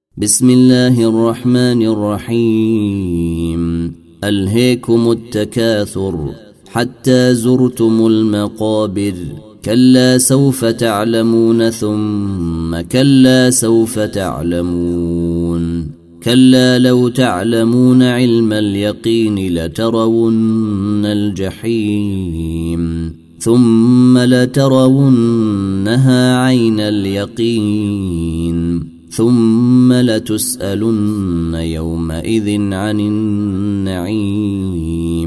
بسم الله الرحمن الرحيم. ألهيكم التكاثر حتى زرتم المقابر، كلا سوف تعلمون ثم كلا سوف تعلمون، كلا لو تعلمون علم اليقين لترون الجحيم ثم لترونها عين اليقين ثم لتسألن يومئذ عن النعيم.